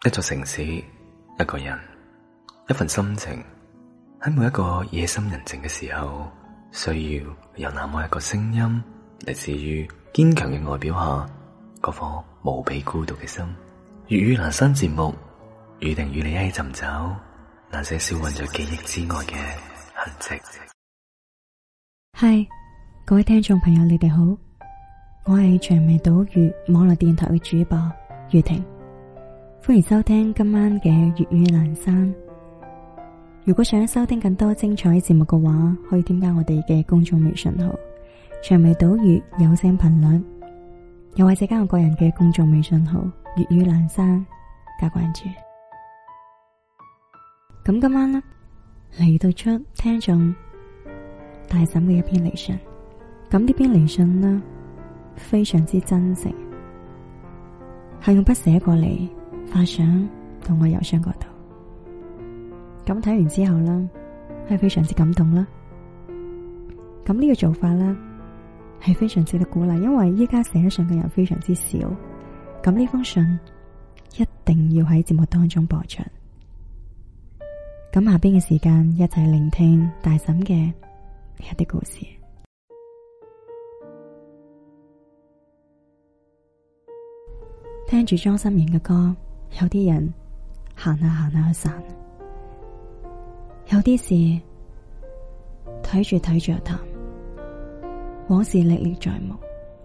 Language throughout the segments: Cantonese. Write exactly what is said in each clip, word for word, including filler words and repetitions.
一座城市，一個人，一份心情，喺每一個夜深人靜嘅時候，需要有那麼一個聲音嚟自於堅強嘅外表下嗰顆無比孤獨嘅心。粵語闌珊節目，預定與你一起尋找那些消隱在記憶之外嘅痕跡。 嗨，各位聽眾朋友，你哋好，我係長尾島嶼網絡電台嘅主播雨婷，歡迎收聽今晚嘅粵語闌珊。如果想收聽更多精彩節目嘅話，可以添加我哋嘅公眾微信號長尾島嶼有聲頻率，又或者加我個人嘅公眾微信號粵語闌珊加關注。咁今晚呢，嚟到出聽眾大嬸嘅一篇嚟信，咁呢篇嚟信呢非常之真誠，係用筆寫過嚟，發上到我郵箱嗰度。咁睇完之後呢，係非常之感動啦。咁呢個做法呢，係非常值得鼓勵，因為依家寫信嘅人非常之少。咁呢封信一定要喺節目當中播出。咁下邊嘅時間一齊聆聽大嬸嘅一啲故事。聽住莊心妍嘅歌，有啲人行下行下去散，有啲事睇住睇住就淡，往事歷歷在目。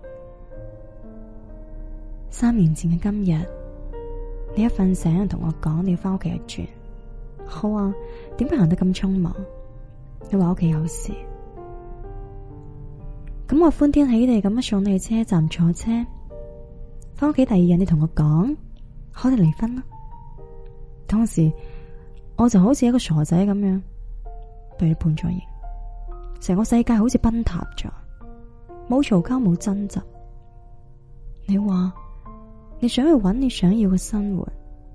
三年前嘅今日，你一瞓醒同我講你要翻屋企一轉。好啊，點解行得咁匆忙？你話屋企有事，咁我歡天喜地咁樣送你去車站坐車，翻屋企第二日你同我講，我哋離婚啦。當時我就好似一個傻仔咁樣被你判咗刑，成個世界好似崩塌咗，冇嘈交冇爭執。你話你想去揾你想要嘅生活，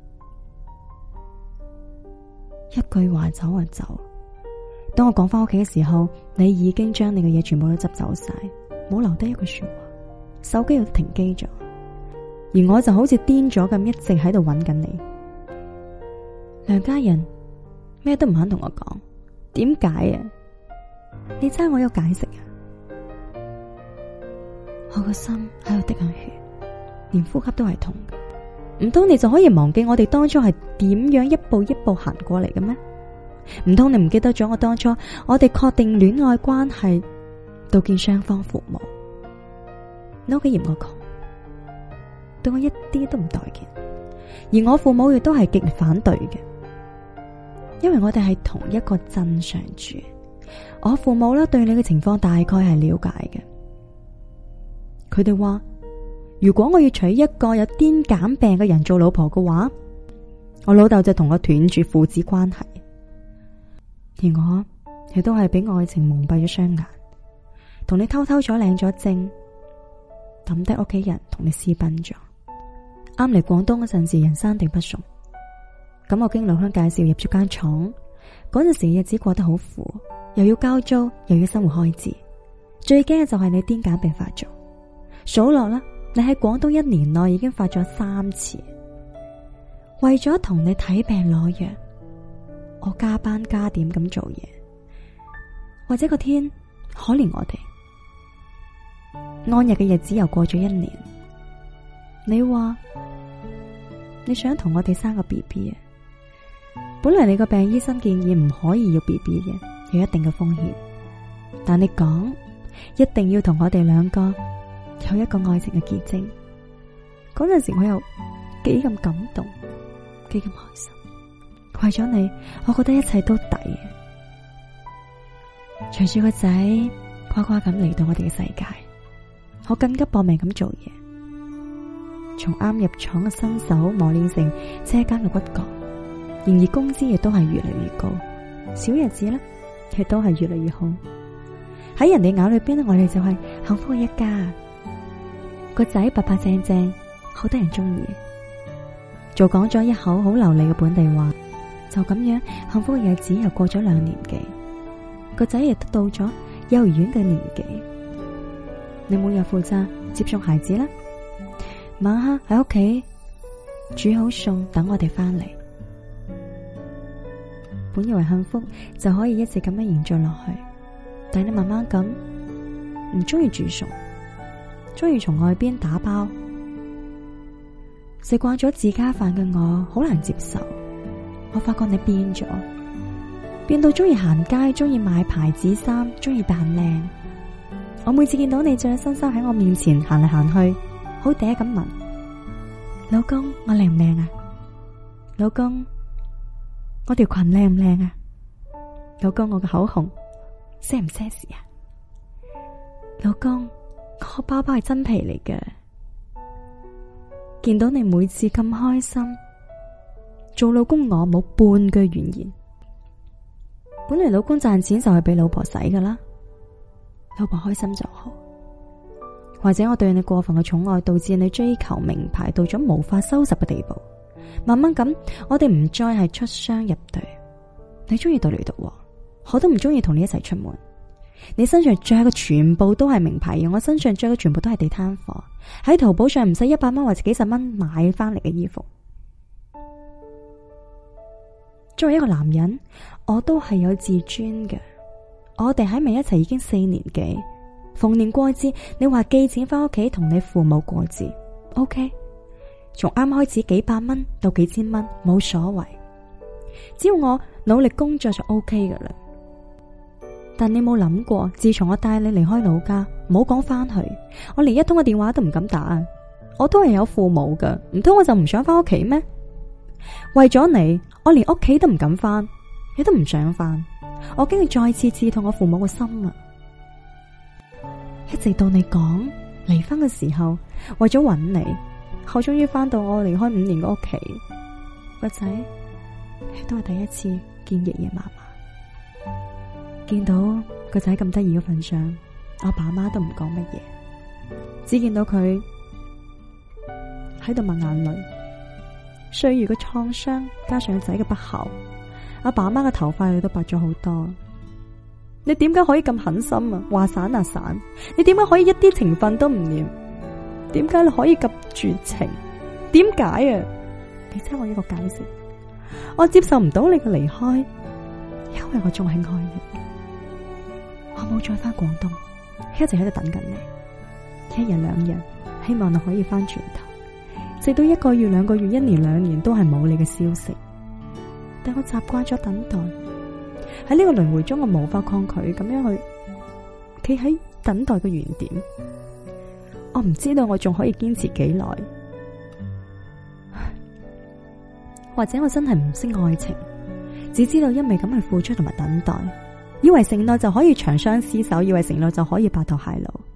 一句話走就走。當我趕翻屋企嘅時候，你已經將你嘅嘢全部都執走晒，冇留低一句說話，手機又停機咗，而我就好似癲咗咁，一直喺度揾緊你。梁家人咩都唔肯同我講，點解啊？你猜我有解釋啊？我個心喺度滴緊血，連呼吸都係痛嘅。唔通你就可以忘記我哋當初係點樣一步一步行過嚟嘅咩？唔通你唔記得咗我當初我哋確定戀愛關係到見雙方父母，你屋企嫌我窮，對我一啲都唔待見，而我父母亦都係極力反對嘅，因為我哋係同一個鎮上住。我父母咧對你嘅情況大概係了解嘅，佢哋話如果我要娶一個有癲癇病嘅人做老婆嘅話，我老豆就同我斷絕父子關係。而我亦都係俾愛情蒙蔽咗雙眼，同你偷偷咗領咗證，抌低屋企人同你私奔咗。啱嚟廣東嗰陣時，人生地不熟，咁我經老鄉介紹入咗間廠。嗰陣時嘅日子過得好苦，又要交租，又要生活開支，最驚嘅就係你癲癇病發作。數落啦，你喺廣東一年內已經發咗三次。為咗同你睇病攞藥，我加班加點咁做嘢，或者個天可憐我哋。安逸嘅日子又過咗一年，你話你想同我哋生個 B B 啊？本嚟你個病醫生建議唔可以要 B B 嘅，有一定嘅風險，但你講一定要同我哋兩個有一個愛情嘅結晶。嗰陣時我又幾咁感動，幾咁開心。為咗你，我覺得一切都抵。隨住個仔呱呱咁嚟到我哋嘅世界，我更加搏命咁做嘢，從啱入廠嘅新手磨練成車間嘅骨幹。然而工資亦都係越嚟越高，小日子呢亦都係越嚟越好。喺人哋眼裏邊呢，我哋就係幸福嘅一家。個仔白白淨淨，好得人中意，就講咗一口好流利嘅本地話。就咁樣幸福嘅日子又過咗兩年幾，個仔亦都到咗幼兒園嘅年紀。你每日負責接送孩子啦，晚黑喺屋企煮好餸等我哋翻嚟。本以為幸福就可以一直咁樣延續落去，但你慢慢咁唔中意煮餸，中意從外邊打包，食慣咗自家飯嘅我好難接受。我發覺你變咗，變到中意行街，中意買牌子衫，中意扮靚。我每次見到你着咗新衫喺我面前行嚟行去，好嗲咁問老公，我靚唔靚啊？老公，我條裙靚唔靚啊？老公，我嘅口紅奢唔奢侈啊？老公，我包包係真皮嚟嘅。見到你每次咁開心，做老公我冇半句怨言。本來老公賺錢就係俾老婆使噶啦，老婆開心就好。或者我對你過分嘅寵愛，導致你追求名牌到咗無法收拾嘅地步。慢慢咁，我哋唔再係出雙入對。你中意獨嚟獨往，我都唔中意同你一齊出門。你身上着嘅全部都係名牌，而我身上着嘅全部都係地攤貨。喺淘寶上唔使一百蚊或者幾十蚊買翻嚟嘅衣服。作為一個男人，我都係有自尊嘅。我哋喺埋一齊已經四年幾，逢年過節，你話寄錢翻屋企同你父母過節 ，OK。從啱開始幾百蚊到幾千蚊冇所謂，只要我努力工作就 OK 噶啦。但你冇諗過，自從我帶你離開老家，唔好講翻去，我連一通嘅電話都唔敢打。我都係有父母噶，唔通我就唔想翻屋企咩？為咗你，我連屋企都唔敢翻，亦都唔想翻。我經歷再次刺痛我父母嘅心啊！一直到你講離婚嘅時候，為咗揾你，我終於翻到我離開五年嘅屋企。個仔都係第一次見爺爺嫲嫲。見到個仔咁得意嘅份上，我爸媽都唔講乜嘢，只見到佢喺度抹眼淚。歲月嘅創傷加上個仔嘅不孝，阿爸媽嘅頭髮都白咗好多。你點解可以咁狠心啊？話散啊散，你點解可以一啲情分都唔念？點解你可以咁絕情？點解啊？你聽我一個解釋，我接受唔到你嘅離開，因為我仲係愛你。我冇再翻廣東，一直喺度等緊你，一日兩日，希望你可以翻轉頭。直到一個月、兩個月、一年、兩年都係冇你嘅消息，但我習慣咗等待。喺呢個輪迴中，我無法抗拒咁樣去企喺等待嘅原點。我唔知道我仲可以堅持幾耐，或者我真係唔識愛情，只知道因為咁去付出同埋等待，以為承諾就可以長相廝守，以為承諾就可以白頭偕老。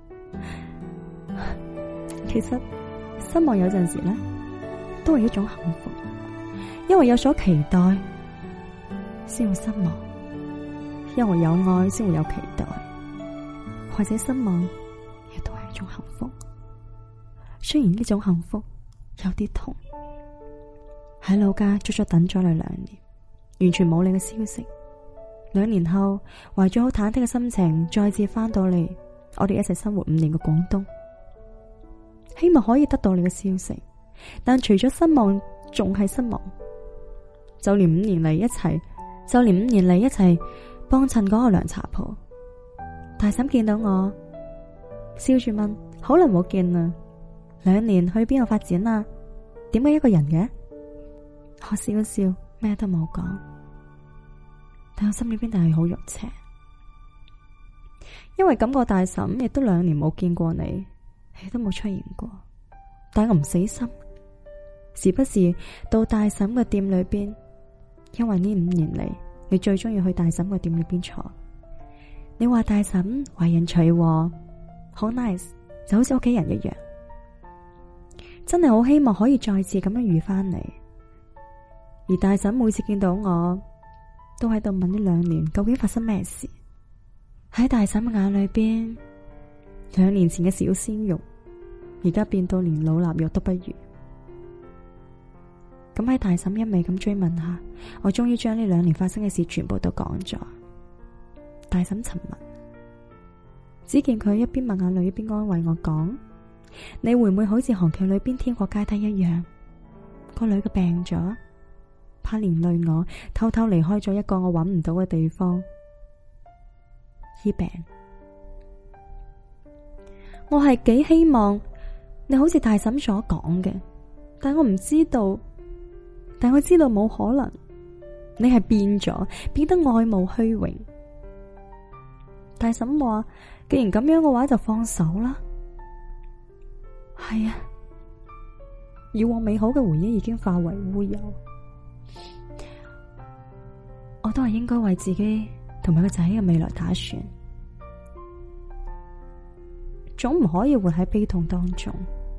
其實失望有陣時呢，都係一種幸福，因為有所期待，先會失望；因為有愛，先會有期待。或者失望，亦都係一種幸福。雖然呢種幸福有啲痛。喺老家足足等咗你兩年，完全冇你嘅消息。兩年後，懷住好忐忑嘅心情，再次翻到嚟我哋一齊生活五年嘅廣東，希望可以得到你嘅消息。但除咗失望，仲係失望。就連五年嚟一齊，就連五年嚟一齊幫襯嗰個涼茶鋪，大嬸見到我，笑住問：好耐冇見啦，兩年去邊度發展啊？點解一個人嘅？我笑笑，咩都冇講，但我心裏邊就係好肉赤，因為感覺大嬸亦都兩年冇見過你，亦都冇出現過。但我唔死心，時不時到大嬸嘅店裏邊，因為呢五年嚟，你最中意去大嬸嘅店裏邊坐。你話大嬸為人隨和，好 nice， 就好似屋企人一樣。真係好希望可以再次咁樣遇翻你。而大嬸每次見到我，都喺度問呢兩年究竟發生咩事。喺大嬸嘅眼裏邊，兩年前嘅小鮮肉，而家變到連老臘肉都不如。咁喺大嬸一味咁追問下，我終於將呢兩年發生嘅事全部都講咗。大嬸沉默，只見佢一邊抹眼淚一邊安慰我講：你會唔會好似韓劇裏邊天國階梯一樣， 個女嘅病咗，怕連累我，偷偷離開咗一個我揾唔到嘅地方醫病。我係幾希望你好似大嬸所講嘅，但我唔知道，但我知道冇可能。你係變咗，變得愛慕虛榮。大嬸話，既然咁樣嘅話就放手啦。係啊，以往美好嘅回憶已經化為烏有，我都係應該為自己同埋個仔嘅未來打算，總唔可以活喺悲痛當中。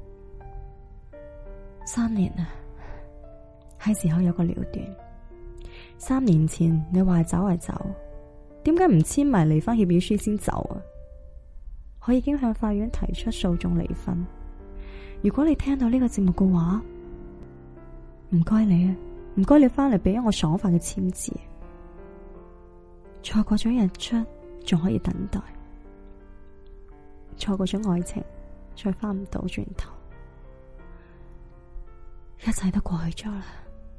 三年啊，係時候有個了斷。三年前你話走係走，點解唔簽埋離婚協議書先走啊？我已經向法院提出訴訟離婚。如果你聽到呢個節目嘅話，唔該你啊，唔該你翻嚟俾我爽快嘅簽字。錯過咗日出，仲可以等待；錯過咗愛情，再翻唔到轉頭。一切都過去咗啦。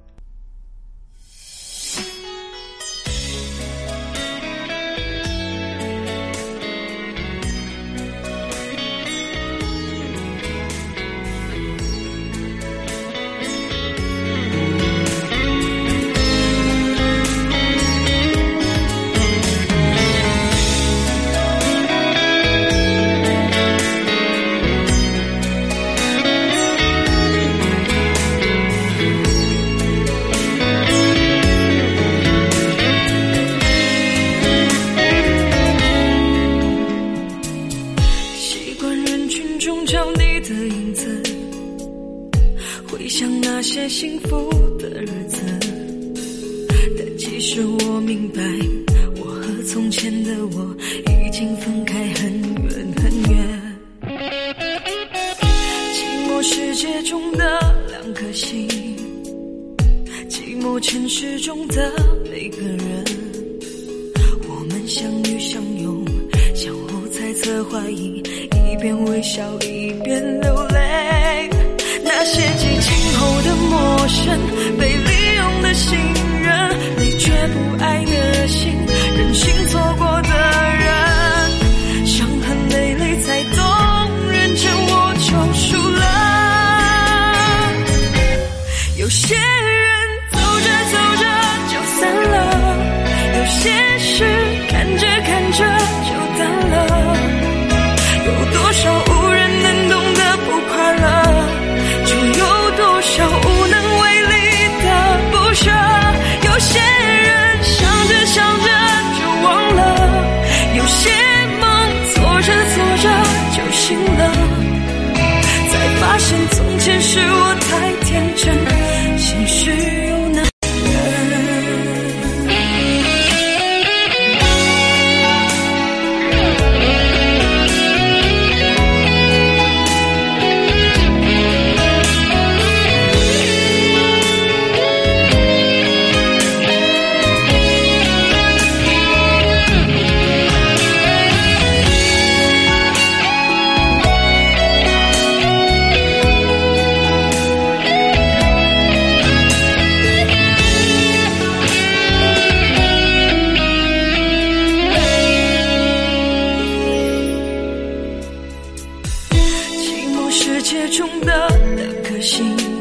那些幸福的日子，但其实我明白，我和从前的我已经分开很远很远。寂寞世界中的两颗心，寂寞城市中的每个人，我们相遇相拥，相互猜测怀疑，一边微笑一边流泪。那些激情后的陌生，被利用的信任，你却不爱的心，任性错过的人，伤痕累累才懂，认真我就输了。有些人走着走着就散了，有些事看着看着就淡了，有多少无人能懂的不快乐，就有多少无能为力的不舍。有些人想着想着就忘了，有些梦做着做着就醒了，才发现从前是我太天真，心事有那世界中的两颗心，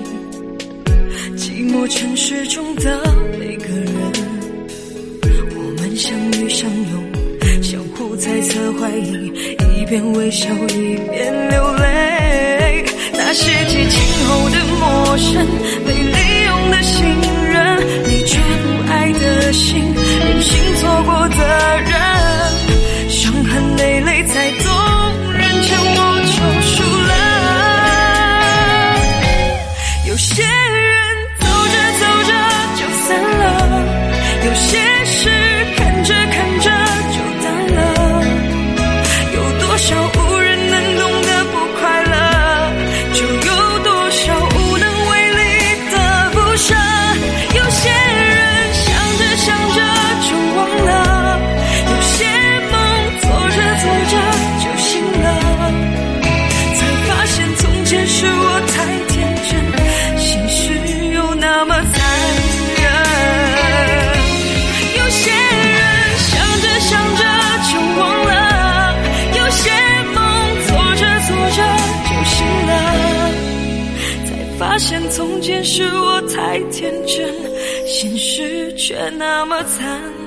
寂寞城市中的每个人，我们相遇相拥，相互猜测怀疑，一边微笑一边流泪。那些激情后的陌生，被利用的信任，你却不爱的心，任性错过的人，伤痕累累才懂，认真我就输了。有些人走着走着就散了，有些事看着看着就淡了，有多少无人能懂的不快乐，就有多少无能为力的不发现从前是我太天真，现实却那么残